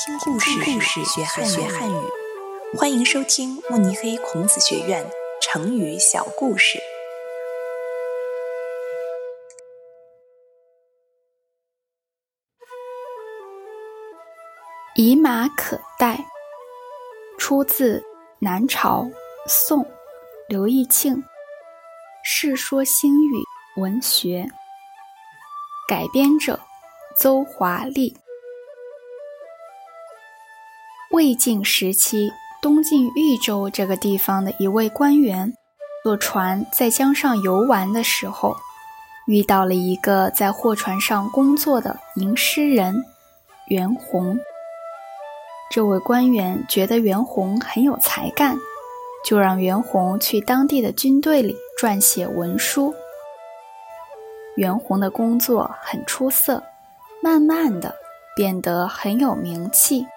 听故事学汉语。欢迎收听慕尼黑孔子学院成语小故事。 以马可待，出自南朝宋刘义庆《世说新语》文学，改编者邹华丽。魏晋时期，东晋豫州这个地方的一位官员坐船在江上游玩的时候，遇到了一个在货船上工作的吟诗人袁弘。这位官员觉得袁弘很有才干，就让袁弘去当地的军队里撰写文书。袁弘的工作很出色，慢慢的变得很有名气。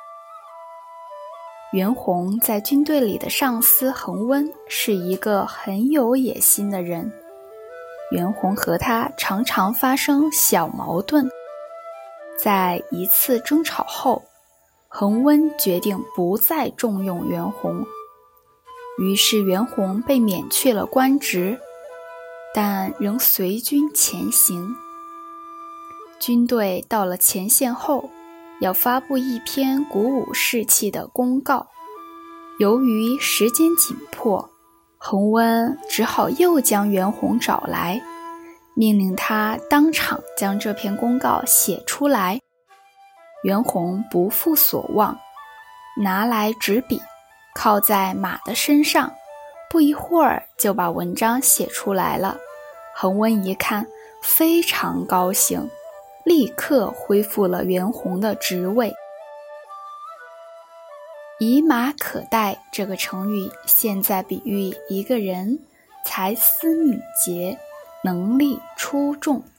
袁弘在军队里的上司恒温是一个很有野心的人，袁弘和他常常发生小矛盾。在一次争吵后，恒温决定不再重用袁弘，于是袁弘被免去了官职，但仍随军前行。军队到了前线后，要发布一篇鼓舞士气的公告。由于时间紧迫，恒温只好又将袁弘找来，命令他当场将这篇公告写出来。袁弘不负所望，拿来纸笔，靠在马的身上，不一会儿就把文章写出来了。恒温一看，非常高兴，立刻恢复了袁弘的职位。以马可待这个成语现在比喻一个人才思敏捷，能力出众。